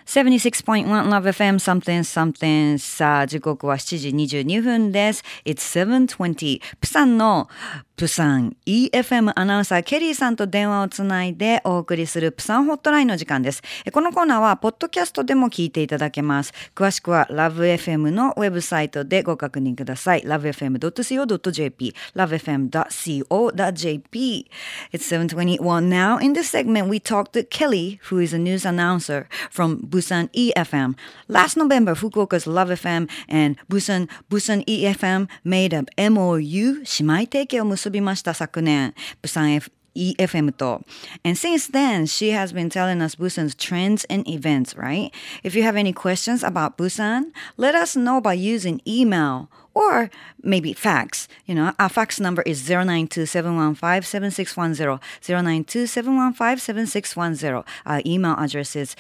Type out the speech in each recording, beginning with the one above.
76.1 Love FM something something さあ時刻は7時22分です。It's 7:20 プサンのプサン EFM アナウンサーケリーさんと電話をつないでお送りするプサンホットラインの時間です。このコーナーはポッドキャストでも聞いていただけます。詳しくは LoveFM のウェブサイトでご確認ください。lovefm.co.jp lovefm.co.jp It's 7:21 now. In this segment, we talked to Kelly, who is a news announcer from Busan EFM. Last November, Fukuoka's Love FM and Busan EFM made a MOU 姉妹提携を結びました昨年。Busan EFM と。And since then, she has been telling us Busan's trends and events, right? If you have any questions about Busan, let us know by using email or maybe fax. You know, our fax number is 092-715-7610, 092-715-7610. Our email address is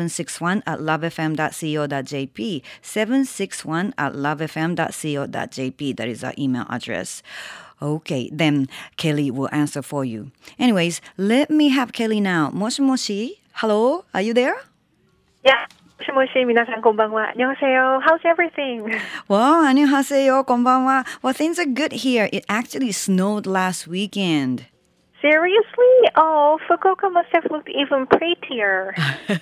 761@lovefm.co.jp, 761@lovefm.co.jp. That is our email address. Okay, then Kelly will answer for you. Anyways, let me have Kelly now. もしもし? Hello, are you there? Yeah. もしもし、皆さんこんばんは。안녕하세요. How's everything? Well, 안녕하세요. こんばんは. Well, things are good here. It actually snowed last weekend. Seriously? Oh, Fukuoka must have looked even prettier.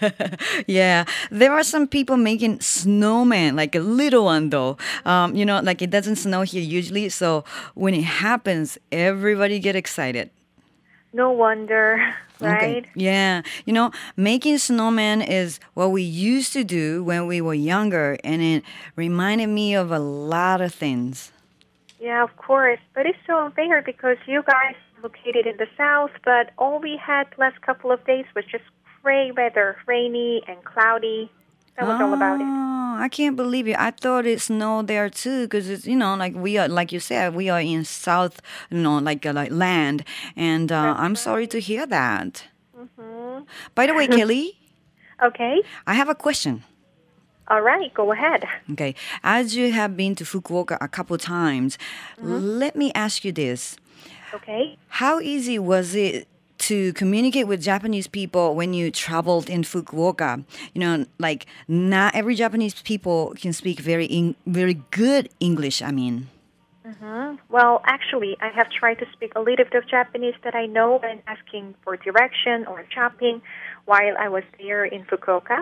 Yeah, there are some people making snowmen, like a little one though. You know, like it doesn't snow here usually, so when it happens, everybody get excited. No wonder, right? Okay. Yeah. You know, making snowmen is what we used to do when we were younger, and it reminded me of a lot of things. Yeah, of course. But it's so unfair because you guys located in the south, but all we had last couple of days was just gray weather, rainy and cloudy. That was all about it. I can't believe it. I thought it snowed there too, because it's, you know, like we are, like you said, we are in south, you know, like land, and I'm sorry to hear that. Mm-hmm. By the way, Kelly, Okay. I have a question. All right, go ahead. Okay, as you have been to Fukuoka a couple times, let me ask you this. Okay. How easy was it to communicate with Japanese people when you traveled in Fukuoka? You know, like not every Japanese people can speak very good English, I mean. Mm-hmm. Well, actually, I have tried to speak a little bit of Japanese that I know when asking for direction or shopping while I was there in Fukuoka.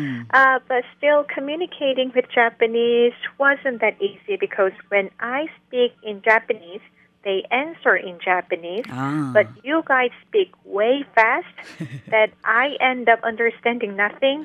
But still, communicating with Japanese wasn't that easy because when I speak in Japanese, they answer in Japanese, but you guys speak way fast that I end up understanding nothing.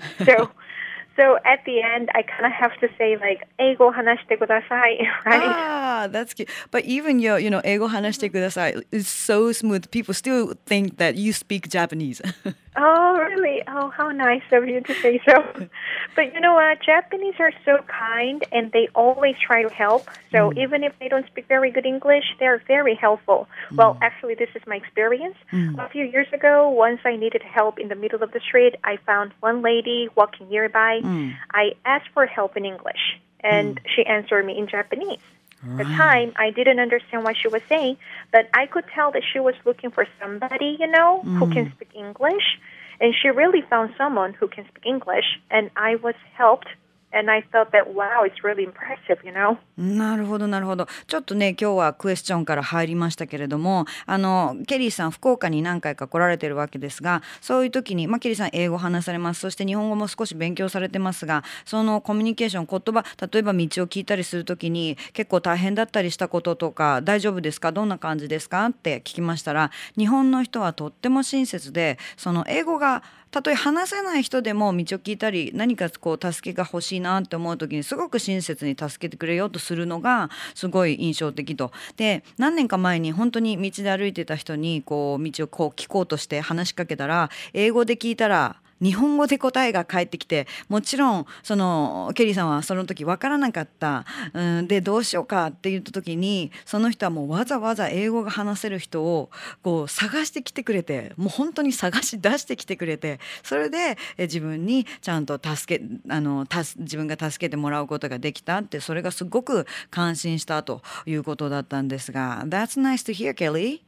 So at the end, I kind of have to say like, 英語話してください, right? That's cute. But even your, you know, 英語話してください is so smooth. People still think that you speak Japanese. Oh, really? Oh, how nice of you to say so. But you know what? Japanese are so kind and they always try to help. So even if they don't speak very good English, they're very helpful. Well, actually, this is my experience. A few years ago, once I needed help in the middle of the street, I found one lady walking nearby. I asked for help in English, and she answered me in Japanese. At the time, I didn't understand what she was saying, but I could tell that she was looking for somebody, you know, who can speak English. And she really found someone who can speak English, and I was helped. And I felt that, wow, it's really impressive, you know? なるほど、なるほど。ちょっとね、今日はクエスチョンから入りましたけれども、ケリーさん、福岡に何回か来られてるわけですが、そういう時に、ケリーさん、英語話されます。そして日本語も少し勉強されてますが、そのコミュニケーション、言葉、例えば道を聞いたりする時に、結構大変だったりしたこととか、大丈夫ですか？どんな感じですか？って聞きましたら、日本の人はとっても親切で、その英語がたとえ話せない人でも道を聞いたり何かこう助けが欲しいなって思う時にすごく親切に助けてくれようとするのがすごい印象的と。で、何年か前に本当に道で歩いてた人にこう道をこう聞こうとして話しかけたら、英語で聞いたら日本語で答えが返ってきて、もちろんそのケリーさんはその時分からなかった、でどうしようかって言った時に、その人はもうわざわざ英語が話せる人をこう探してきてくれて、もう本当に探し出してきてくれて、それで自分にちゃんと自分が助けてもらうことができたって、それがすごく感心したということだったんですが、 That's nice to hear, Kelly.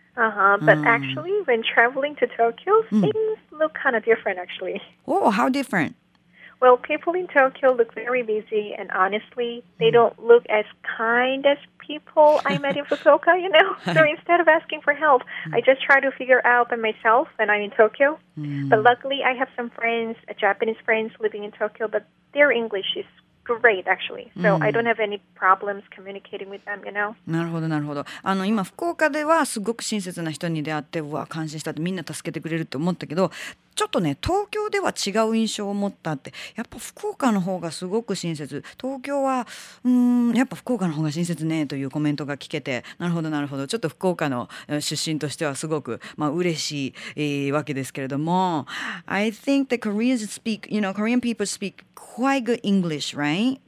But actually, when traveling to Tokyo, things look kind of different, actually. Oh, how different? Well, people in Tokyo look very busy, and honestly, they don't look as kind as people I met in Fukuoka, you know? So instead of asking for help, I just try to figure out by myself when I'm in Tokyo. But luckily, I have some friends, Japanese friends living in Tokyo, but their English is great, actually. So I don't have any problems communicating with them, you know? なるほどなるほど。今福岡ではすごく親切な人に出会って、うわ感心したって、みんな助けてくれるって思ったけど、ちょっとね東京では違う印象を持ったって。やっぱ福岡の方がすごく親切、東京はやっぱ福岡の方が親切ねというコメントが聞けて、なるほどなるほど、ちょっと福岡の出身としてはすごく嬉しい、わけですけれども、 I think the Koreans speak, Korean people speak quite good English, right?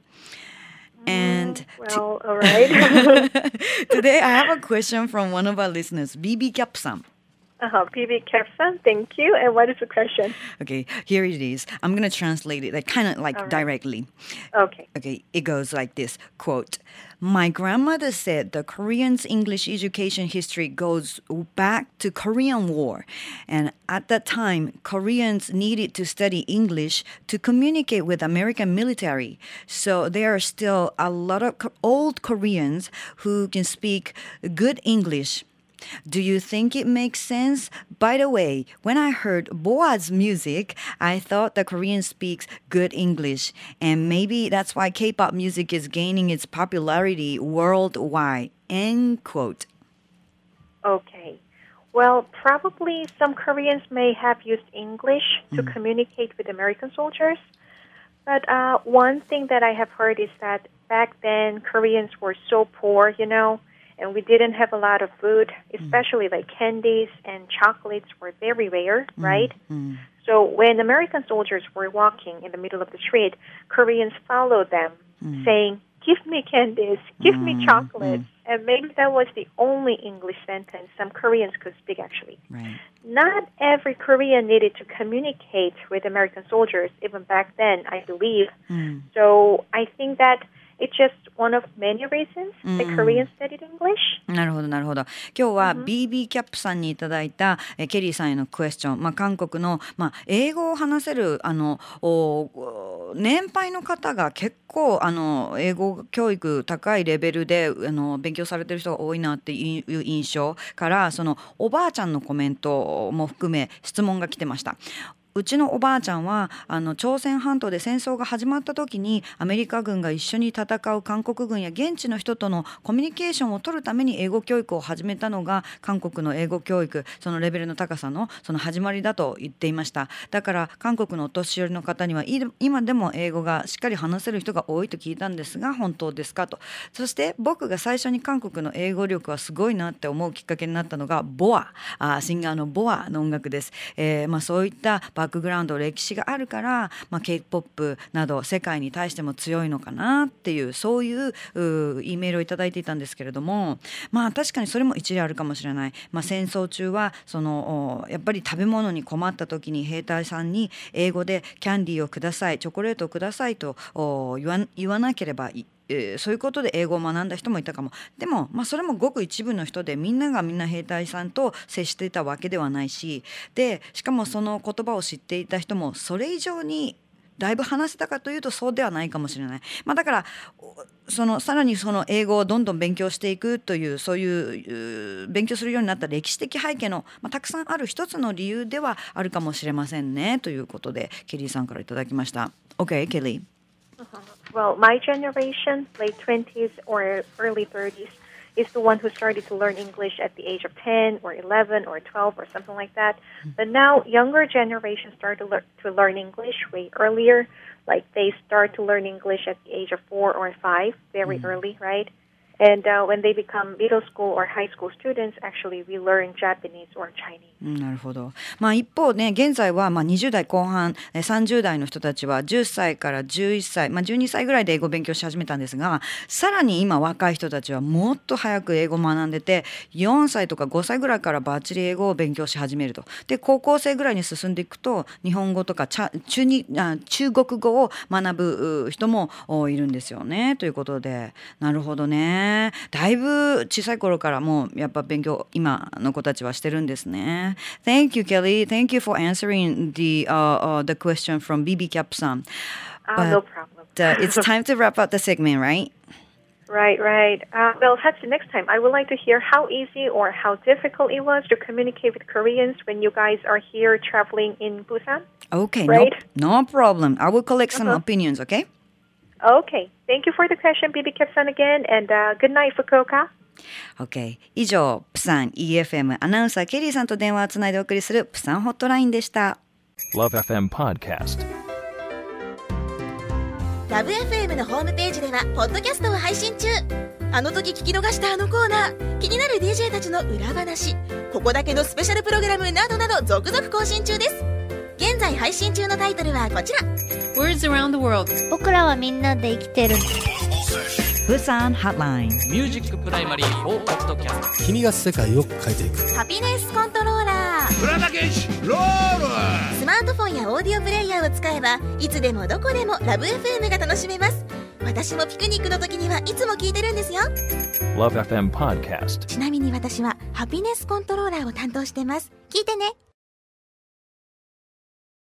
And well, all right. today I have a question from one of our listeners, BB Cap さん。 PB Kepson, thank you. And what is the question? Okay, here it is. I'm going to translate it kind of directly. Okay. Okay, it goes like this, quote, "My grandmother said the Koreans' English education history goes back to Korean War. And at that time, Koreans needed to study English to communicate with American military. So there are still a lot of old Koreans who can speak good English. Do you think it makes sense? By the way, when I heard Boa's music, I thought the Korean speaks good English. And maybe that's why K-pop music is gaining its popularity worldwide." End quote. Okay. Well, probably some Koreans may have used English to communicate with American soldiers. But one thing that I have heard is that back then Koreans were so poor, you know, and we didn't have a lot of food, especially like candies and chocolates were very rare, right? So when American soldiers were walking in the middle of the street, Koreans followed them, saying, "Give me candies, give me chocolates." And maybe that was the only English sentence some Koreans could speak, actually. Right. Not every Korean needed to communicate with American soldiers, even back then, I believe. So I think that it's just one of many reasons that Koreans studied English. なるほどなるほど。今日は BB キャップさんにいただいたケリーさんへのクエスチョン、韓国の、英語を話せる年配の方が結構英語教育高いレベルで勉強されてる人が多いなっていう印象から、そのおばあちゃんのコメントも含め質問が来てました。うちのおばあちゃんは朝鮮半島で戦争が始まった時にアメリカ軍が一緒に戦う韓国軍や現地の人とのコミュニケーションを取るために英語教育を始めたのが韓国の英語教育、そのレベルの高さのその始まりだと言っていました。だから韓国のお年寄りの方には今でも英語がしっかり話せる人が多いと聞いたんですが、本当ですかと。そして僕が最初に韓国の英語力はすごいなって思うきっかけになったのがボア、シンガーのボアの音楽です。そういったバックグラウンド歴史があるから、K-POP など世界に対しても強いのかなっていう、そういうEメールをいただいていたんですけれども、確かにそれも一理あるかもしれない。戦争中はやっぱり食べ物に困った時に兵隊さんに英語でキャンディーをください、チョコレートをくださいと言わなければいい。そういうことで英語を学んだ人もいたかも。でも、それもごく一部の人で、みんながみんな兵隊さんと接していたわけではないし、でしかもその言葉を知っていた人もそれ以上にだいぶ話せたかというとそうではないかもしれない。だからさらにその英語をどんどん勉強していくという、そういう勉強するようになった歴史的背景の、たくさんある一つの理由ではあるかもしれませんねということで、ケリーさんからいただきました。 OK, ケリー。 Well, my generation, late 20s or early 30s, is the one who started to learn English at the age of 10 or 11 or 12 or something like that. But now younger generations start to learn English way earlier. Like they start to learn English at the age of 4 or 5, very early, right? And when they become middle school or high school students, actually we learn Japanese or Chinese. なるほど。一方ね、現在は20代後半、30代の人たちは10歳から11歳、12歳ぐらいで英語を勉強し始めたんですが、さらに今若い人たちはもっと早く英語を学んでて、4歳とか5歳ぐらいからバッチリ英語を勉強し始めると。で、高校生ぐらいに進んでいくと、日本語とか中国語を学ぶ人もいるんですよね。ということで、なるほどね。 ね。だいぶ小さい頃からもうやっぱ勉強今の子たちはしてるんですね。Thank you, Kelly. Thank you for answering the question from BB Cap さん。 No problem. It's time to wrap up the segment, right? Right. Well, Hatsu, next time I would like to hear how easy or how difficult it was to communicate with Koreans when you guys are here traveling in Busan. Okay, right? No problem. I will collect some opinions, okay? Okay. Thank you for the question, BB Cap-san again, and good night, Fukuoka. Okay. 以上、プサン EFM アナウンサーケリーさんと電話をつないでお送りするプサンホットラインでした。 Love FM Podcast。 ラブ FM のホームページではポッドキャストを配信中。あの時聞き逃したあのコーナー、気になる DJ たちの裏話、ここだけのスペシャルプログラムなどなど続々更新中です。現在配信中のタイトルはこちら。 Words Around the World。 僕らはみんなで生きてる。 プサンハットライン。 ミュージックプライマリー4ポッドキャスト。 君が世界を変えていく。 ハピネスコントローラー。 浦田健志ロール。 スマートフォンやオーディオプレイヤーを使えばいつでもどこでもラブ FM が楽しめます。私もピクニックの時にはいつも聞いてるんですよ。 Love FM Podcast。 ちなみに私はハピネスコントローラーを担当してます。聞いてね。